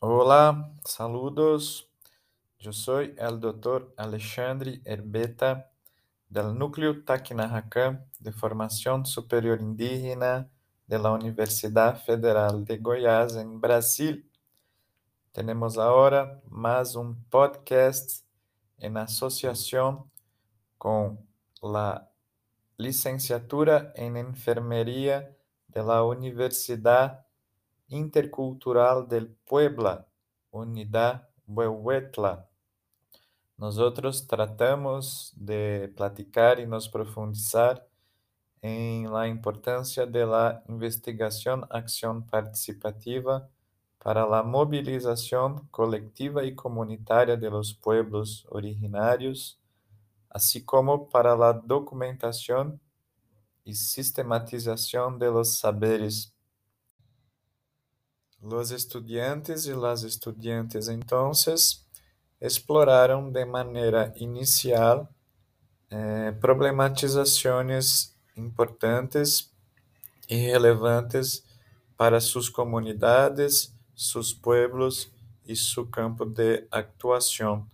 Hola, saludos. Yo soy el doctor Alexandre Herbeta del Núcleo Tacnahacan de Formación Superior Indígena de la Universidad Federal de Goiás, en Brasil. Tenemos ahora más un podcast en asociación con la licenciatura en Enfermería de la Universidad Intercultural del Puebla, Unidad Huehuetla. Nosotros tratamos de platicar y nos profundizar en la importancia de la investigación-acción participativa para la movilización colectiva y comunitaria de los pueblos originarios, así como para la documentación y sistematización de los saberes. Los estudiantes y las estudiantes entonces exploraron de manera inicial problematizaciones importantes y relevantes para sus comunidades, sus pueblos y su campo de actuación.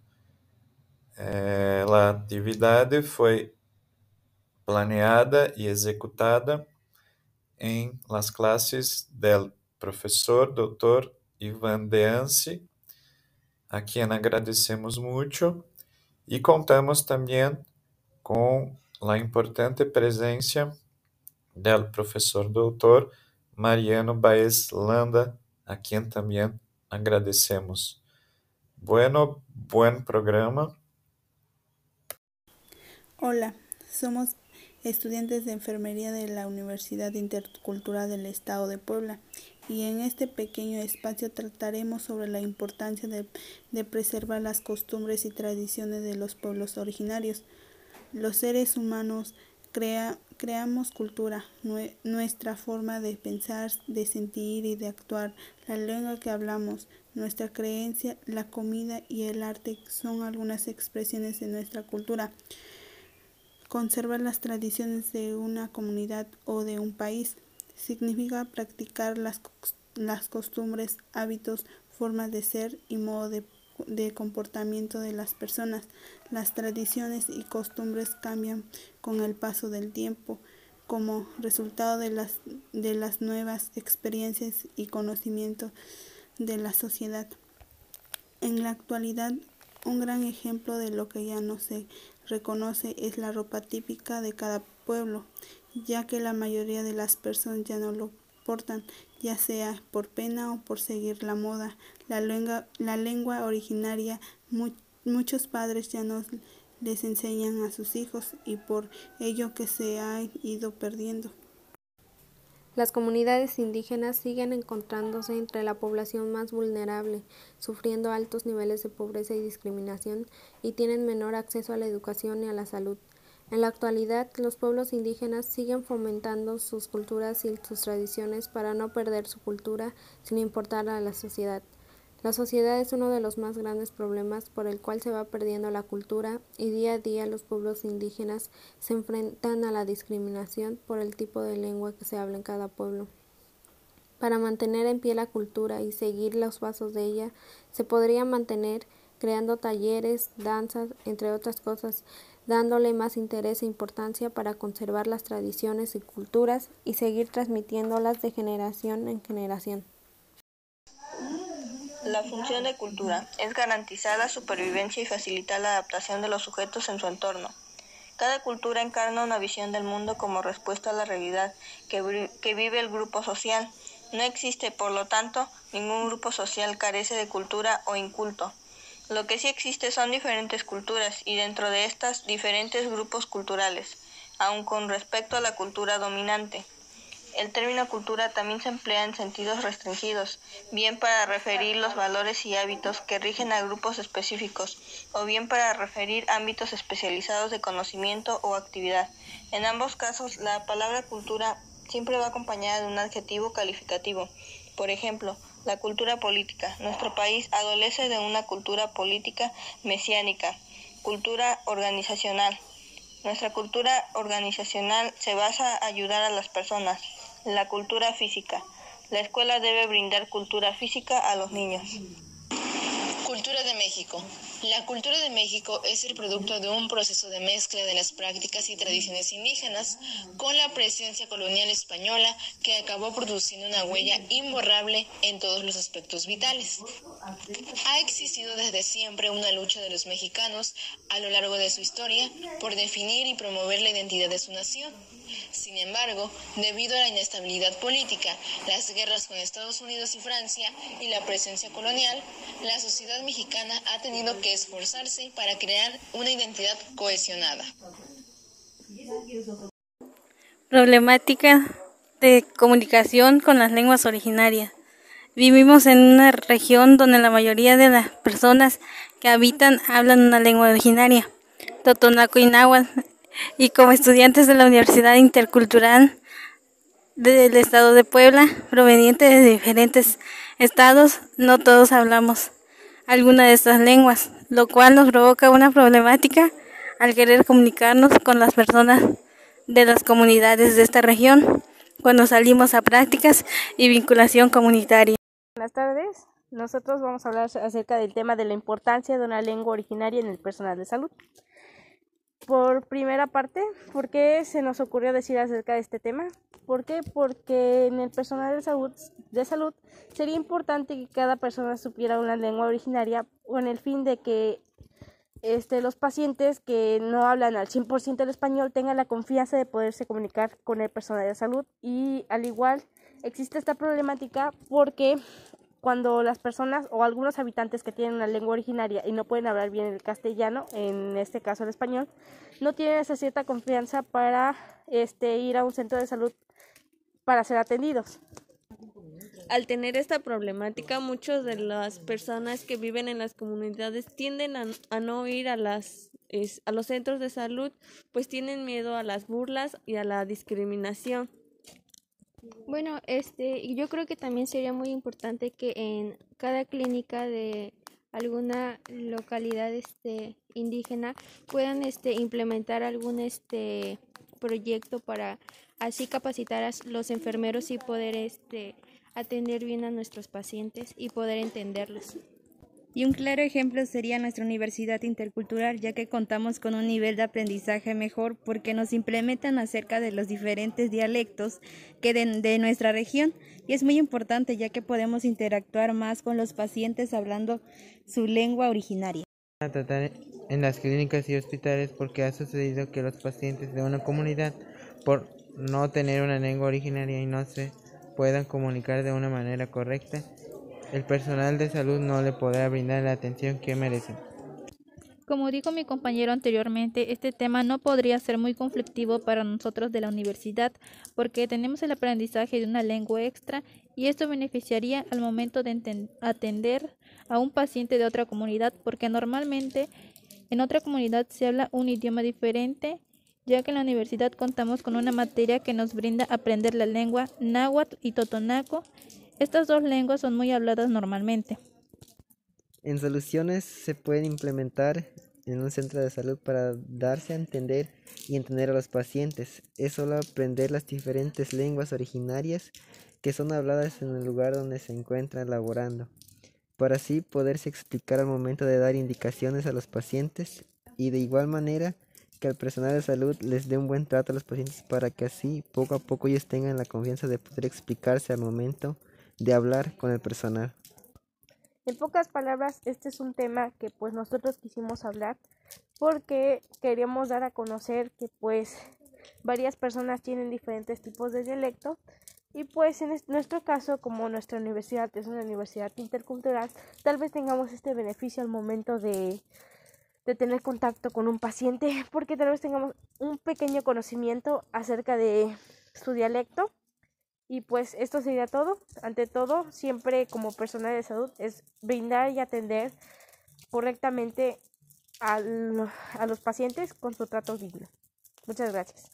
La actividad fue planeada y ejecutada en las clases del profesor Dr. Ivan Deance, a quien agradecemos mucho, y contamos también con la importante presencia del profesor Dr. Mariano Baez Landa, a quien también agradecemos. Bueno, buen programa. Hola, somos estudiantes de enfermería de la Universidad Intercultural del Estado de Puebla y en este pequeño espacio trataremos sobre la importancia de preservar las costumbres y tradiciones de los pueblos originarios. Los seres humanos creamos cultura, nuestra forma de pensar, de sentir y de actuar, la lengua que hablamos, nuestra creencia, la comida y el arte son algunas expresiones de nuestra cultura. Conservar las tradiciones de una comunidad o de un país significa practicar las costumbres, hábitos, formas de ser y modo de comportamiento de las personas. Las tradiciones y costumbres cambian con el paso del tiempo como resultado de las nuevas experiencias y conocimientos de la sociedad. En la actualidad, un gran ejemplo de lo que ya no se reconoce es la ropa típica de cada pueblo, ya que la mayoría de las personas ya no lo portan, ya sea por pena o por seguir la moda. La lengua originaria, muchos padres ya no les enseñan a sus hijos y por ello que se ha ido perdiendo. Las comunidades indígenas siguen encontrándose entre la población más vulnerable, sufriendo altos niveles de pobreza y discriminación, y tienen menor acceso a la educación y a la salud. En la actualidad, los pueblos indígenas siguen fomentando sus culturas y sus tradiciones para no perder su cultura sin importar a la sociedad. La sociedad es uno de los más grandes problemas por el cual se va perdiendo la cultura y día a día los pueblos indígenas se enfrentan a la discriminación por el tipo de lengua que se habla en cada pueblo. Para mantener en pie la cultura y seguir los pasos de ella, se podría mantener creando talleres, danzas, entre otras cosas, dándole más interés e importancia para conservar las tradiciones y culturas y seguir transmitiéndolas de generación en generación. La función de cultura es garantizar la supervivencia y facilitar la adaptación de los sujetos en su entorno. Cada cultura encarna una visión del mundo como respuesta a la realidad que vive el grupo social. No existe, por lo tanto, ningún grupo social carece de cultura o inculto. Lo que sí existe son diferentes culturas y dentro de estas diferentes grupos culturales, aun con respecto a la cultura dominante. El término cultura también se emplea en sentidos restringidos, bien para referir los valores y hábitos que rigen a grupos específicos, o bien para referir ámbitos especializados de conocimiento o actividad. En ambos casos, la palabra cultura siempre va acompañada de un adjetivo calificativo. Por ejemplo, la cultura política. Nuestro país adolece de una cultura política mesiánica, cultura organizacional. Nuestra cultura organizacional se basa en ayudar a las personas. La cultura física. La escuela debe brindar cultura física a los niños. Cultura de México. La cultura de México es el producto de un proceso de mezcla de las prácticas y tradiciones indígenas con la presencia colonial española que acabó produciendo una huella imborrable en todos los aspectos vitales. Ha existido desde siempre una lucha de los mexicanos a lo largo de su historia por definir y promover la identidad de su nación. Sin embargo, debido a la inestabilidad política, las guerras con Estados Unidos y Francia y la presencia colonial, la sociedad mexicana ha tenido que esforzarse para crear una identidad cohesionada. Problemática de comunicación con las lenguas originarias. Vivimos en una región donde la mayoría de las personas que habitan hablan una lengua originaria, totonaco y náhuatl, y como estudiantes de la Universidad Intercultural del Estado de Puebla, provenientes de diferentes estados, no todos hablamos alguna de estas lenguas, lo cual nos provoca una problemática al querer comunicarnos con las personas de las comunidades de esta región cuando salimos a prácticas y vinculación comunitaria. Buenas tardes, nosotros vamos a hablar acerca del tema de la importancia de una lengua originaria en el personal de salud. Por primera parte, ¿por qué se nos ocurrió decir acerca de este tema? ¿Por qué? Porque en el personal de salud sería importante que cada persona supiera una lengua originaria con el fin de que los pacientes que no hablan al 100% el español tengan la confianza de poderse comunicar con el personal de salud. Y al igual existe esta problemática porque cuando las personas o algunos habitantes que tienen una lengua originaria y no pueden hablar bien el castellano, en este caso el español, no tienen esa cierta confianza para ir a un centro de salud para ser atendidos. Al tener esta problemática, muchas de las personas que viven en las comunidades tienden a no ir a los centros de salud, pues tienen miedo a las burlas y a la discriminación. Bueno, yo creo que también sería muy importante que en cada clínica de alguna localidad indígena puedan implementar algún proyecto para así capacitar a los enfermeros y poder atender bien a nuestros pacientes y poder entenderlos. Y un claro ejemplo sería nuestra Universidad Intercultural, ya que contamos con un nivel de aprendizaje mejor porque nos implementan acerca de los diferentes dialectos que de nuestra región. Y es muy importante ya que podemos interactuar más con los pacientes hablando su lengua originaria. A tratar en las clínicas y hospitales porque ha sucedido que los pacientes de una comunidad, por no tener una lengua originaria y no se puedan comunicar de una manera correcta, el personal de salud no le podrá brindar la atención que merecen. Como dijo mi compañero anteriormente, este tema no podría ser muy conflictivo para nosotros de la universidad porque tenemos el aprendizaje de una lengua extra y esto beneficiaría al momento de atender a un paciente de otra comunidad porque normalmente en otra comunidad se habla un idioma diferente, ya que en la universidad contamos con una materia que nos brinda aprender la lengua náhuatl y totonaco. Estas dos lenguas son muy habladas normalmente. En soluciones se pueden implementar en un centro de salud para darse a entender y entender a los pacientes. Es solo aprender las diferentes lenguas originarias que son habladas en el lugar donde se encuentran laborando, para así poderse explicar al momento de dar indicaciones a los pacientes y de igual manera que al personal de salud les dé un buen trato a los pacientes para que así poco a poco ellos tengan la confianza de poder explicarse al momento de hablar con el personal. En pocas palabras, este es un tema que pues nosotros quisimos hablar porque queríamos dar a conocer que pues varias personas tienen diferentes tipos de dialecto y pues en nuestro caso, como nuestra universidad es una universidad intercultural, tal vez tengamos este beneficio al momento de tener contacto con un paciente porque tal vez tengamos un pequeño conocimiento acerca de su dialecto. Y pues esto sería todo. Ante todo, siempre como personal de salud es brindar y atender correctamente a los pacientes con su trato digno. Muchas gracias.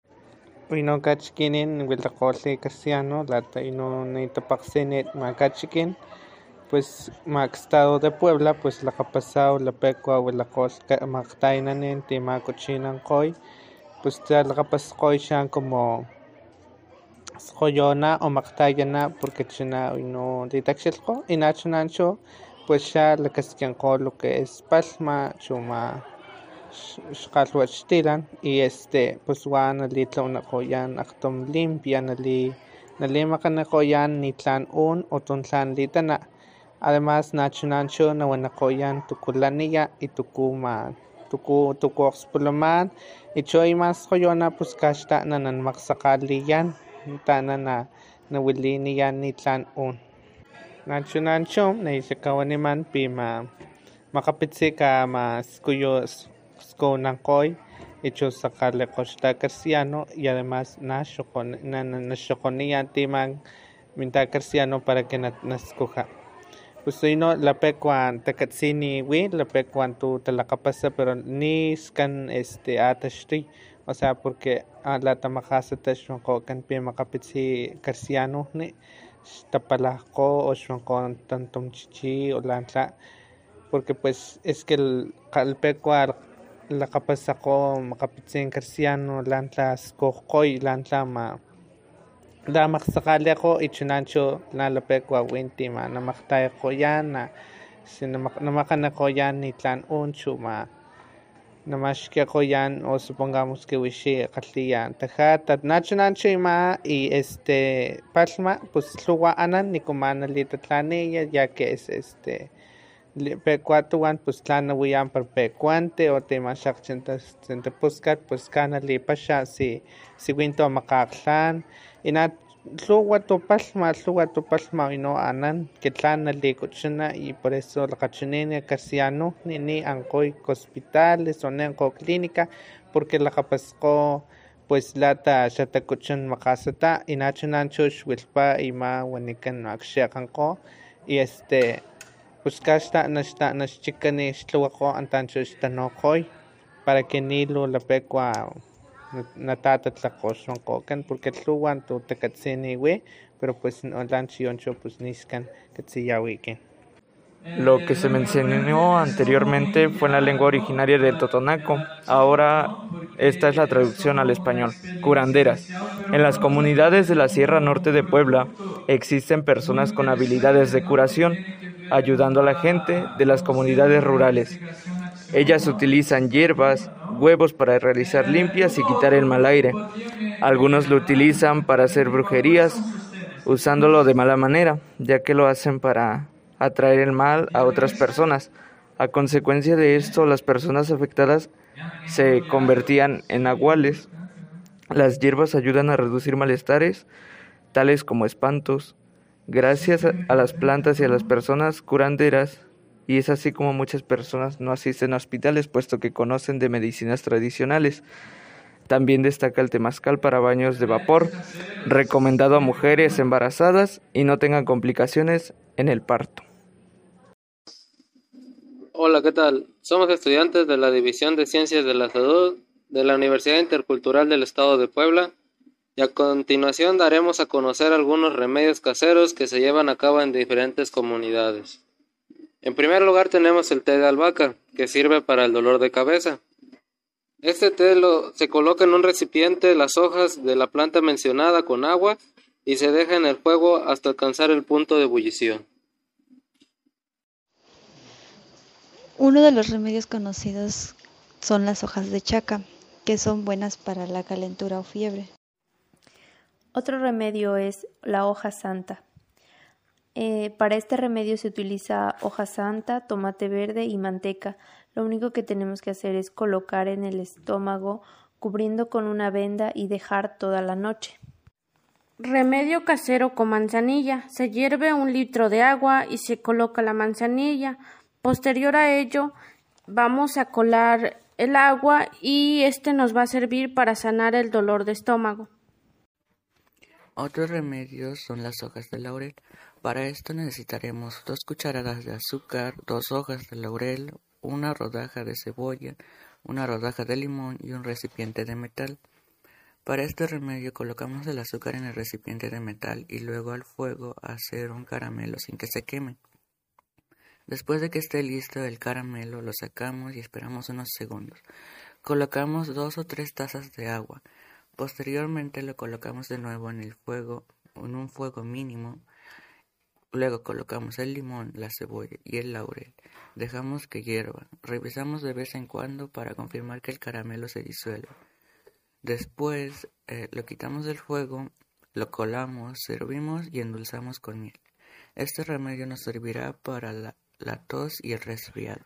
Pino kachkinin wiltakole casiano lata ino neitapaksenet makachikin pues mac estado de Puebla pues la capasao la pecua wilakos maktainanen timacochinan koy pues la capascoy shan como maksjoyona o maktayana porque china no ditakshilko inachanancho pues ya la casquianco lo que es palma chuma xkalhuachtilan y pues wan litlawnakgoyan akgtom limpia nalimakganakgoyan nitlan o tuntlan litana además nachunancho nawanakgoyan tukulaniya y tuku okspulaman y cho imas joyona pues kaxtana nanmaksakgaliyan tana nawiliniyan nitlan nachunancho naixakawaniman pima makapitsi kama skuyo skonankgoy y cho sakgalekgoxta Casiano y además naxokgoniyan timan minta Casiano para que naskuja pues ino lapekuan takatsini wi lapekuan tu talakgapasa pero niskan ataxtuy o sea porque latamakgasata xwankgokan pimakapitsi Casianojni xtapalajkgo o xwankgo tantomchichi o lantla porque pues es que lpekua lakgapasakgo makapitsin Casiano lantla skojkgoy lantla damakgsakgalikgo y chunancho lapekua winti namakgtayakgoyan namakganakgoyan nitlan chu namaxkikgoyan o supongamos que wixi kgalhiya tajatat nachunancho ima y palhma pues lhuwa anan nikuma nalitatlaniya ya que es pekua tuwan pues tlan nawiyan para pekuante o timaxakgchin tapuskat pues ka nalipaxa si winto makgakgtlan y lhuwa tupalhma ino anan que tlan nalikuchuna y por eso lakgachinini Casianojni ni ankgoy hospitales o ni ankgo clínica porque lakgapaskgo pues lata xatakuchun makgasata y nachunancho xwilhpa ima wanikan akgxekgankgo y pues kaxtana xchikani xtluwakgo antancho xtanokgoy para que nilu lapekua natatatlakgo xwankgokan porque lhuwa tu takatsini wi pero pues lan chiyoncho pues niskan katsiyawikin. Lo que se mencionó anteriormente fue en la lengua originaria del Totonaco. Ahora esta es la traducción al español. Curanderas. En las comunidades de la Sierra Norte de Puebla existen personas con habilidades de curación, ayudando a la gente de las comunidades rurales. Ellas utilizan hierbas, huevos para realizar limpias y quitar el mal aire. Algunos lo utilizan para hacer brujerías, usándolo de mala manera, ya que lo hacen para atraer el mal a otras personas. A consecuencia de esto, las personas afectadas se convertían en nahuales. Las hierbas ayudan a reducir malestares, tales como espantos. Gracias a las plantas y a las personas curanderas, y es así como muchas personas no asisten a hospitales, puesto que conocen de medicinas tradicionales. También destaca el temazcal para baños de vapor, recomendado a mujeres embarazadas y no tengan complicaciones en el parto. Hola, ¿qué tal? Somos estudiantes de la División de Ciencias de la Salud de la Universidad Intercultural del Estado de Puebla y a continuación daremos a conocer algunos remedios caseros que se llevan a cabo en diferentes comunidades. En primer lugar tenemos el té de albahaca, que sirve para el dolor de cabeza. Este té se coloca en un recipiente las hojas de la planta mencionada con agua y se deja en el fuego hasta alcanzar el punto de ebullición. Uno de los remedios conocidos son las hojas de chaca, que son buenas para la calentura o fiebre. Otro remedio es la hoja santa. Para este remedio se utiliza hoja santa, tomate verde y manteca. Lo único que tenemos que hacer es colocar en el estómago, cubriendo con una venda y dejar toda la noche. Remedio casero con manzanilla. Se hierve 1 litro de agua y se coloca la manzanilla. Posterior a ello, vamos a colar el agua y nos va a servir para sanar el dolor de estómago. Otros remedios son las hojas de laurel. Para esto necesitaremos 2 cucharadas de azúcar, 2 hojas de laurel, 1 rodaja de cebolla, 1 rodaja de limón y un recipiente de metal. Para este remedio colocamos el azúcar en el recipiente de metal y luego al fuego hacer un caramelo sin que se queme. Después de que esté listo el caramelo lo sacamos y esperamos unos segundos. Colocamos 2 o 3 tazas de agua. Posteriormente lo colocamos de nuevo en el fuego, en un fuego mínimo. Luego colocamos el limón, la cebolla y el laurel. Dejamos que hierva. Revisamos de vez en cuando para confirmar que el caramelo se disuelve. Después lo quitamos del fuego, lo colamos, servimos y endulzamos con miel. Este remedio nos servirá para la tos y el resfriado.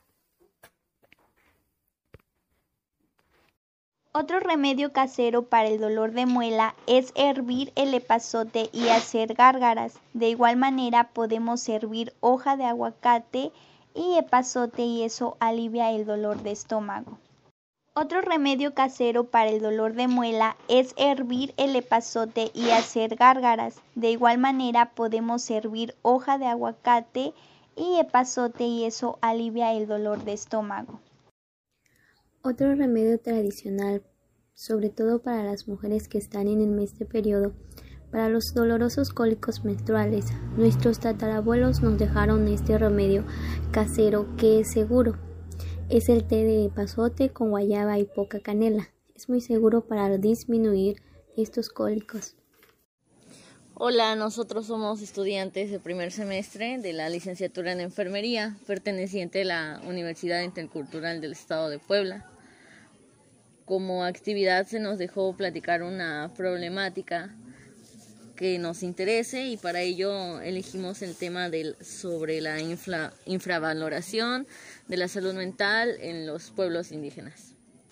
Otro remedio casero para el dolor de muela es hervir el epazote y hacer gárgaras. De igual manera podemos servir hoja de aguacate y epazote y eso alivia el dolor de estómago. Otro remedio casero para el dolor de muela es hervir el epazote y hacer gárgaras. De igual manera podemos servir hoja de aguacate y epazote y eso alivia el dolor de estómago. Otro remedio tradicional, sobre todo para las mujeres que están en el mes de periodo, para los dolorosos cólicos menstruales. Nuestros tatarabuelos nos dejaron este remedio casero que es seguro. Es el té de epazote con guayaba y poca canela. Es muy seguro para disminuir estos cólicos. Hola, nosotros somos estudiantes de primer semestre de la licenciatura en enfermería, perteneciente a la Universidad Intercultural del Estado de Puebla. Como actividad se nos dejó platicar una problemática que nos interese y para ello elegimos el tema sobre la infravaloración de la salud mental en los pueblos indígenas.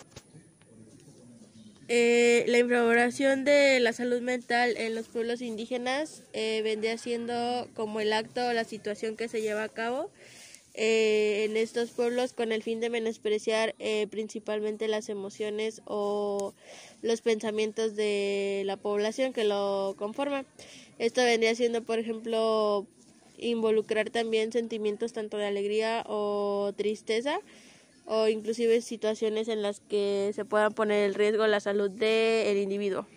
La infravaloración de la salud mental en los pueblos indígenas vendría siendo como el acto o la situación que se lleva a cabo en estos pueblos con el fin de menospreciar principalmente las emociones o los pensamientos de la población que lo conforma. Esto vendría siendo, por ejemplo, involucrar también sentimientos tanto de alegría o tristeza, o inclusive situaciones en las que se pueda poner en riesgo la salud del individuo.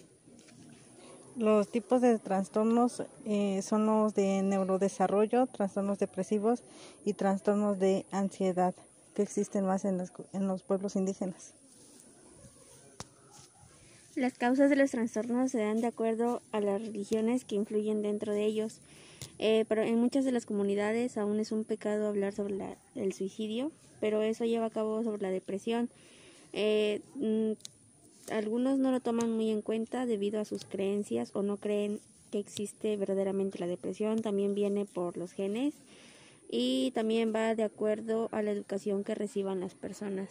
Los tipos de trastornos son los de neurodesarrollo, trastornos depresivos y trastornos de ansiedad, que existen más en los pueblos indígenas. Las causas de los trastornos se dan de acuerdo a las religiones que influyen dentro de ellos. Pero en muchas de las comunidades aún es un pecado hablar sobre el suicidio, pero eso lleva a cabo sobre la depresión. Algunos no lo toman muy en cuenta debido a sus creencias o no creen que existe verdaderamente la depresión. También viene por los genes y también va de acuerdo a la educación que reciban las personas.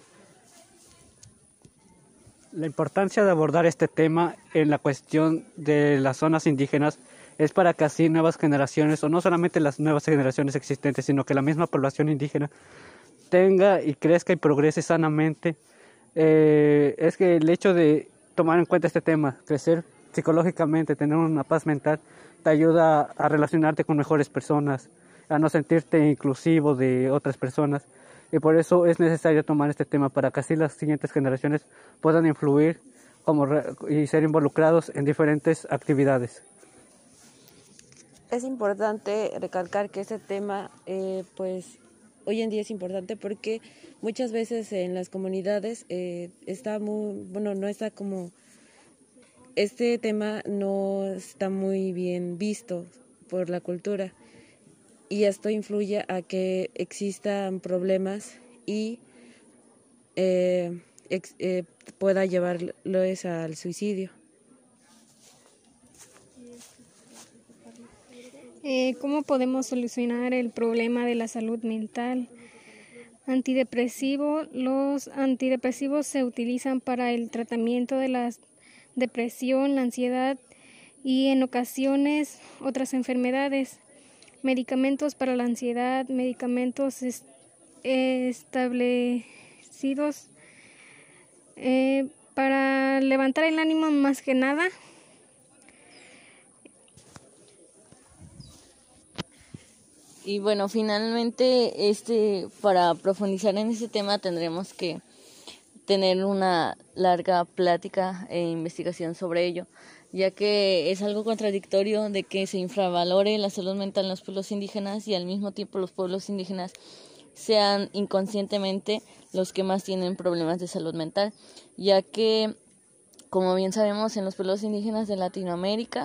La importancia de abordar este tema en la cuestión de las zonas indígenas es para que así nuevas generaciones, o no solamente las nuevas generaciones existentes, sino que la misma población indígena tenga y crezca y progrese sanamente. Es que el hecho de tomar en cuenta este tema, crecer psicológicamente, tener una paz mental, te ayuda a relacionarte con mejores personas, a no sentirte inclusivo de otras personas. Y por eso es necesario tomar este tema para que así las siguientes generaciones puedan influir y ser involucrados en diferentes actividades. Es importante recalcar que este tema, pues hoy en día es importante porque muchas veces en las comunidades este tema no está muy bien visto por la cultura. Y esto influye a que existan problemas y pueda llevarlos al suicidio. ¿Cómo podemos solucionar el problema de la salud mental? Los antidepresivos se utilizan para el tratamiento de la depresión, la ansiedad y en ocasiones otras enfermedades. Medicamentos para la ansiedad, medicamentos establecidos para levantar el ánimo más que nada. Y bueno, finalmente para profundizar en este tema tendremos que tener una larga plática e investigación sobre ello, ya que es algo contradictorio de que se infravalore la salud mental en los pueblos indígenas y al mismo tiempo los pueblos indígenas sean inconscientemente los que más tienen problemas de salud mental, ya que como bien sabemos, en los pueblos indígenas de Latinoamérica,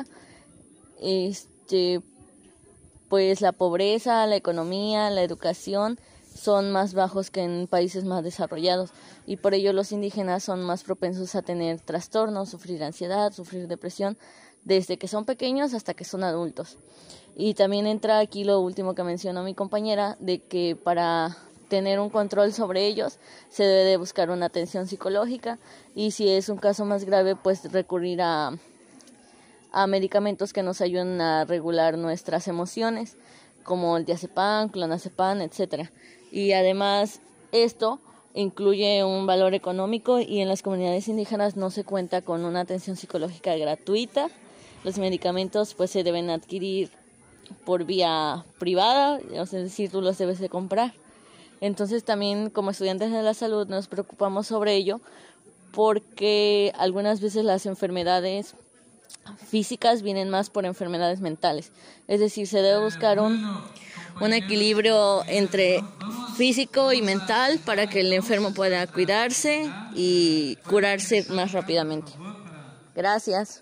pues la pobreza, la economía, la educación son más bajos que en países más desarrollados, y por ello los indígenas son más propensos a tener trastornos, sufrir ansiedad, sufrir depresión, desde que son pequeños hasta que son adultos. Y también entra aquí lo último que mencionó mi compañera, de que para tener un control sobre ellos se debe de buscar una atención psicológica, y si es un caso más grave, pues recurrir a medicamentos que nos ayuden a regular nuestras emociones, como el diazepam, clonazepam, etc. Y además esto incluye un valor económico, y en las comunidades indígenas no se cuenta con una atención psicológica gratuita. Los medicamentos pues se deben adquirir por vía privada, es decir, tú los debes de comprar. Entonces también como estudiantes de la salud nos preocupamos sobre ello, porque algunas veces las enfermedades físicas vienen más por enfermedades mentales. Es decir, se debe buscar un equilibrio entre físico y mental para que el enfermo pueda cuidarse y curarse más rápidamente. Gracias.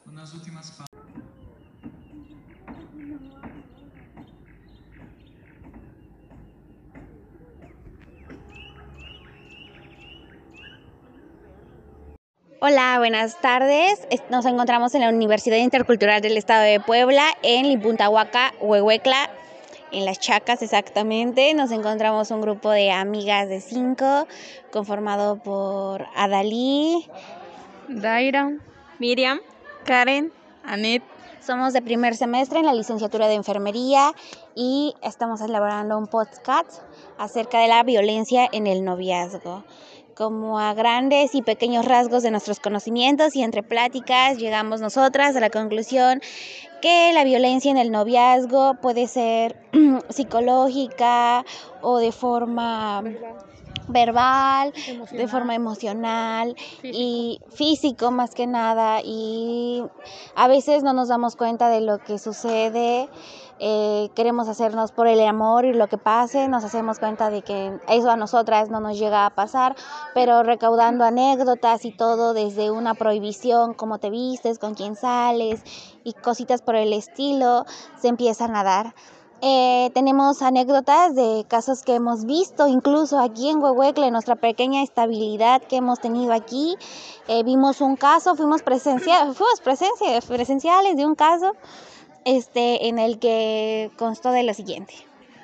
Hola, buenas tardes. Nos encontramos en la Universidad Intercultural del Estado de Puebla, en Lipuntahuaca, Huehuetla, en Las Chacas exactamente. Nos encontramos un grupo de amigas de 5, conformado por Adalí, Daira, Miriam, Karen, Anet. Somos de primer semestre en la licenciatura de Enfermería y estamos elaborando un podcast acerca de la violencia en el noviazgo. Como a grandes y pequeños rasgos de nuestros conocimientos y entre pláticas llegamos nosotras a la conclusión que la violencia en el noviazgo puede ser psicológica o de forma verbal, de forma emocional y físico más que nada, y a veces no nos damos cuenta de lo que sucede. Queremos hacernos por el amor y lo que pase, nos hacemos cuenta de que eso a nosotras no nos llega a pasar, pero recaudando anécdotas y todo desde una prohibición, cómo te vistes, con quién sales y cositas por el estilo, se empiezan a dar. Tenemos anécdotas de casos que hemos visto incluso aquí en Huehuetla, en nuestra pequeña estabilidad que hemos tenido aquí. Vimos un caso, fuimos presenciales de un caso en el que constó de lo siguiente.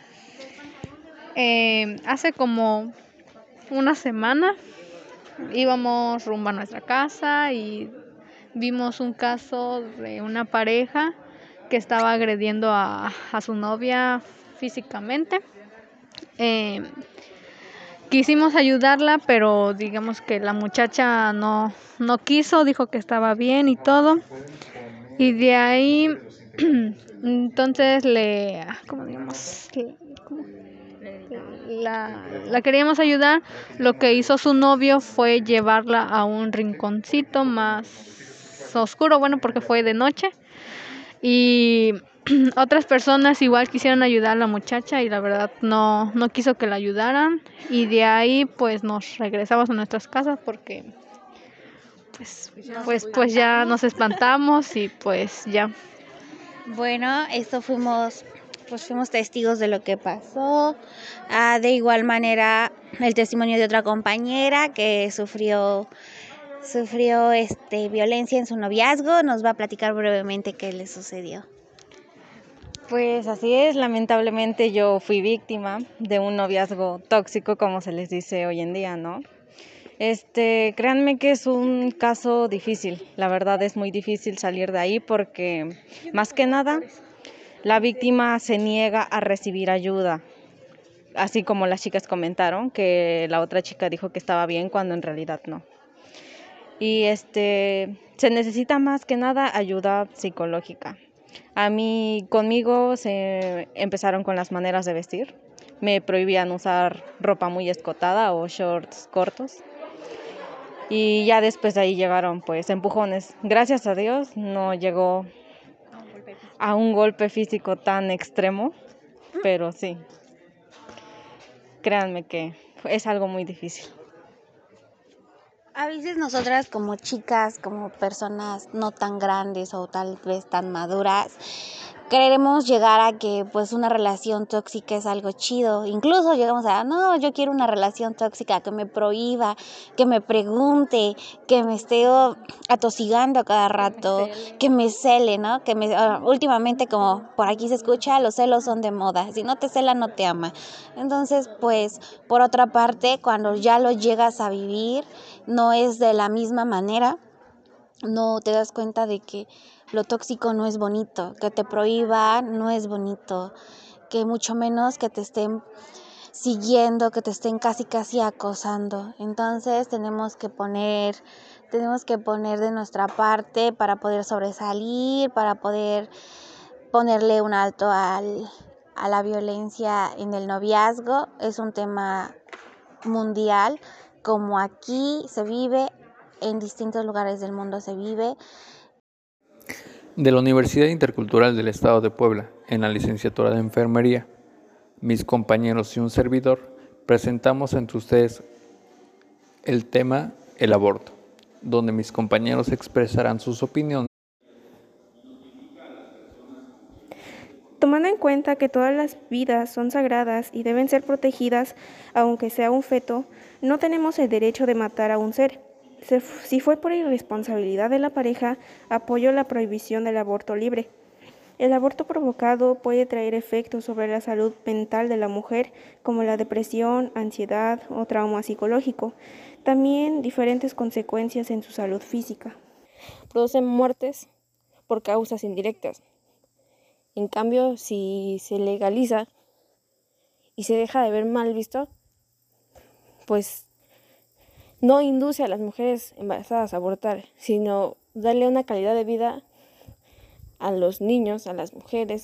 Hace como una semana íbamos rumbo a nuestra casa y vimos un caso de una pareja que estaba agrediendo a su novia físicamente. Quisimos ayudarla, pero digamos que la muchacha no quiso, dijo que estaba bien y todo. Y de ahí, entonces la queríamos ayudar. Lo que hizo su novio fue llevarla a un rinconcito más oscuro, bueno, porque fue de noche. Y otras personas igual quisieron ayudar a la muchacha y la verdad no quiso que la ayudaran, y de ahí pues nos regresamos a nuestras casas porque pues ya nos espantamos y pues ya. Bueno, fuimos testigos de lo que pasó. De igual manera el testimonio de otra compañera que sufrió violencia en su noviazgo nos va a platicar brevemente qué le sucedió. Pues así es, lamentablemente yo fui víctima de un noviazgo tóxico, como se les dice hoy en día, ¿no? Créanme que es un caso difícil, la verdad es muy difícil salir de ahí porque más que nada la víctima se niega a recibir ayuda, así como las chicas comentaron que la otra chica dijo que estaba bien cuando en realidad no. Y se necesita más que nada ayuda psicológica. Conmigo se empezaron con las maneras de vestir. Me prohibían usar ropa muy escotada o shorts cortos. Y ya después de ahí llegaron pues empujones. Gracias a Dios no llegó a un golpe físico tan extremo, pero sí. Créanme que es algo muy difícil. A veces nosotras como chicas, como personas no tan grandes o tal vez tan maduras, queremos llegar a que pues una relación tóxica es algo chido. Incluso llegamos a, no, yo quiero una relación tóxica que me prohíba, que me pregunte, que me esté atosigando a cada rato, que me cele, ¿no? Últimamente, como por aquí se escucha, los celos son de moda. Si no te cela, no te ama. Entonces, pues, por otra parte, cuando ya lo llegas a vivir, no es de la misma manera. No te das cuenta de que lo tóxico no es bonito, que te prohíban no es bonito, que mucho menos que te estén siguiendo, que te estén casi acosando. Entonces tenemos que poner de nuestra parte para poder sobresalir, para poder ponerle un alto a la violencia en el noviazgo. Es un tema mundial, como aquí se vive, en distintos lugares del mundo se vive. De la Universidad Intercultural del Estado de Puebla, en la licenciatura de Enfermería, mis compañeros y un servidor presentamos ante ustedes el tema el aborto, donde mis compañeros expresarán sus opiniones. Tomando en cuenta que todas las vidas son sagradas y deben ser protegidas, aunque sea un feto, no tenemos el derecho de matar a un ser. Si fue por irresponsabilidad de la pareja, apoyo la prohibición del aborto libre. El aborto provocado puede traer efectos sobre la salud mental de la mujer, como la depresión, ansiedad o trauma psicológico. También diferentes consecuencias en su salud física. Producen muertes por causas indirectas. En cambio, si se legaliza y se deja de ver mal visto, pues no induce a las mujeres embarazadas a abortar, sino darle una calidad de vida a los niños, a las mujeres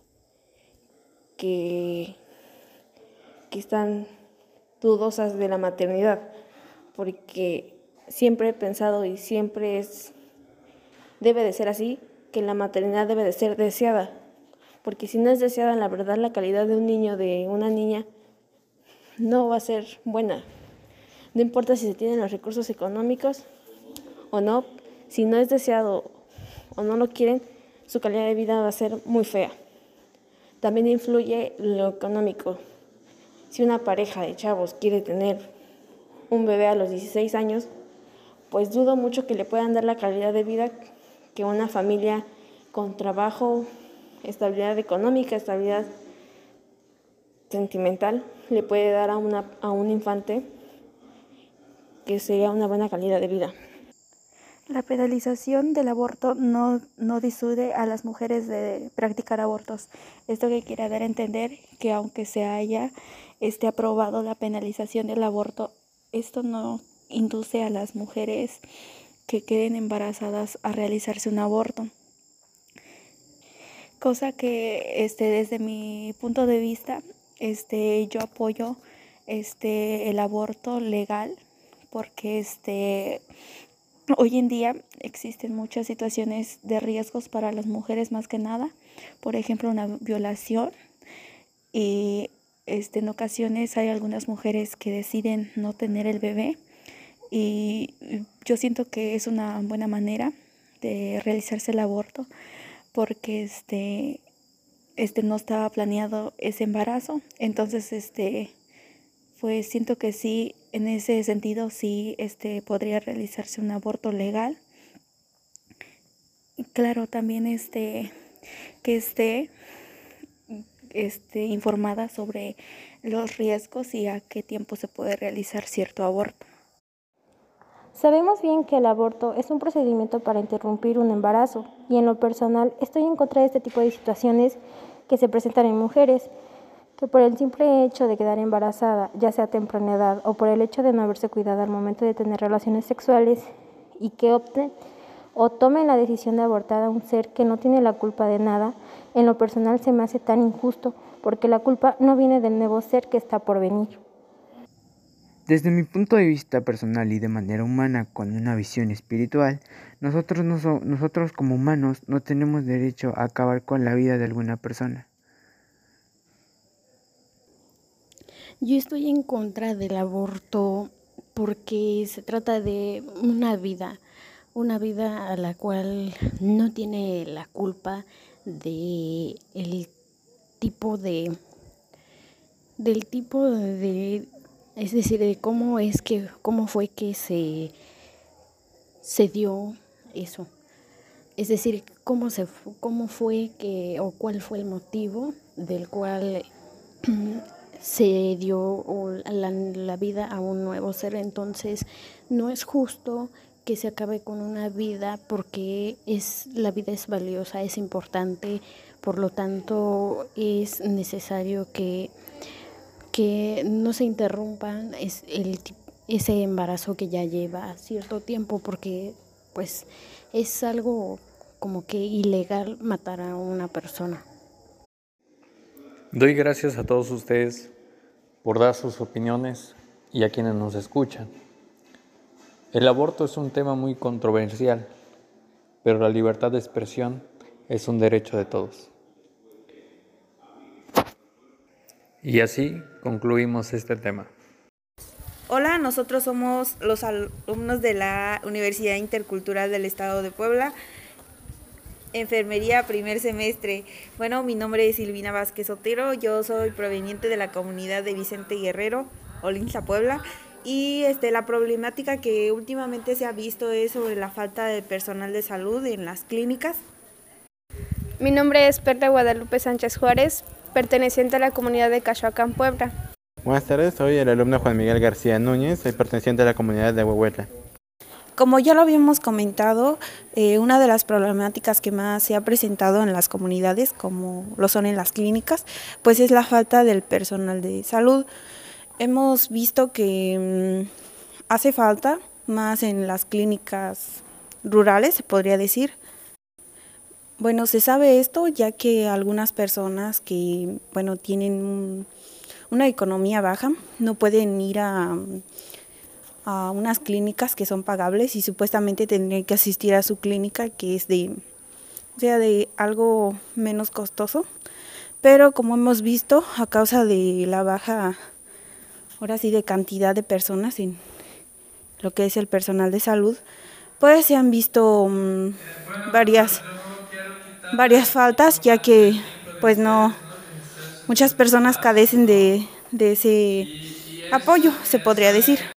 que están dudosas de la maternidad, porque siempre he pensado y siempre debe de ser así, que la maternidad debe de ser deseada, porque si no es deseada, la verdad la calidad de un niño, de una niña, no va a ser buena. No importa si se tienen los recursos económicos o no, si no es deseado o no lo quieren, su calidad de vida va a ser muy fea. También influye lo económico. Si una pareja de chavos quiere tener un bebé a los 16 años, pues dudo mucho que le puedan dar la calidad de vida que una familia con trabajo, estabilidad económica, estabilidad sentimental le puede dar a un infante, que sea una buena calidad de vida. La penalización del aborto no disuade a las mujeres de practicar abortos. Esto que quiere dar a entender que aunque se haya aprobado la penalización del aborto, esto no induce a las mujeres que queden embarazadas a realizarse un aborto. Cosa que desde mi punto de vista, yo apoyo el aborto legal, porque hoy en día existen muchas situaciones de riesgos para las mujeres, más que nada, por ejemplo una violación, y en ocasiones hay algunas mujeres que deciden no tener el bebé, y yo siento que es una buena manera de realizarse el aborto, porque no estaba planeado ese embarazo. Entonces pues siento que sí, en ese sentido sí podría realizarse un aborto legal. Y claro, también que esté informada sobre los riesgos y a qué tiempo se puede realizar cierto aborto. Sabemos bien que el aborto es un procedimiento para interrumpir un embarazo, y en lo personal estoy en contra de este tipo de situaciones que se presentan en mujeres, que por el simple hecho de quedar embarazada, ya sea a temprana edad o por el hecho de no haberse cuidado al momento de tener relaciones sexuales, y que opten o tomen la decisión de abortar a un ser que no tiene la culpa de nada, en lo personal se me hace tan injusto, porque la culpa no viene del nuevo ser que está por venir. Desde mi punto de vista personal y de manera humana, con una visión espiritual, nosotros como humanos no tenemos derecho a acabar con la vida de alguna persona. Yo estoy en contra del aborto porque se trata de una vida a la cual no tiene la culpa de el tipo de es decir, de cómo fue que se dio eso. Es decir, cómo fue que, o cuál fue el motivo del cual se dio la vida a un nuevo ser. Entonces, no es justo que se acabe con una vida porque la vida es valiosa, es importante, por lo tanto es necesario que no se interrumpa ese embarazo que ya lleva cierto tiempo, porque pues es algo como que ilegal matar a una persona. Doy gracias a todos ustedes por dar sus opiniones y a quienes nos escuchan. El aborto es un tema muy controversial, pero la libertad de expresión es un derecho de todos. Y así concluimos este tema. Hola, nosotros somos los alumnos de la Universidad Intercultural del Estado de Puebla, Enfermería primer semestre. Bueno, mi nombre es Silvina Vázquez Otero, yo soy proveniente de la comunidad de Vicente Guerrero, Olinza, Puebla, y la problemática que últimamente se ha visto es sobre la falta de personal de salud en las clínicas. Mi nombre es Perla Guadalupe Sánchez Juárez, perteneciente a la comunidad de Cachoacán, Puebla. Buenas tardes, soy el alumno Juan Miguel García Núñez, soy perteneciente a la comunidad de Huehuetla. Como ya lo habíamos comentado, una de las problemáticas que más se ha presentado en las comunidades, como lo son en las clínicas, pues es la falta del personal de salud. Hemos visto que hace falta más en las clínicas rurales, se podría decir. Bueno, se sabe esto ya que algunas personas que, tienen una economía baja no pueden ir a unas clínicas que son pagables y supuestamente tendrían que asistir a su clínica que es de algo menos costoso, pero como hemos visto, a causa de la baja, ahora sí, de cantidad de personas en lo que es el personal de salud, pues se han visto varias faltas, ya que pues muchas personas carecen de ese apoyo, se podría decir.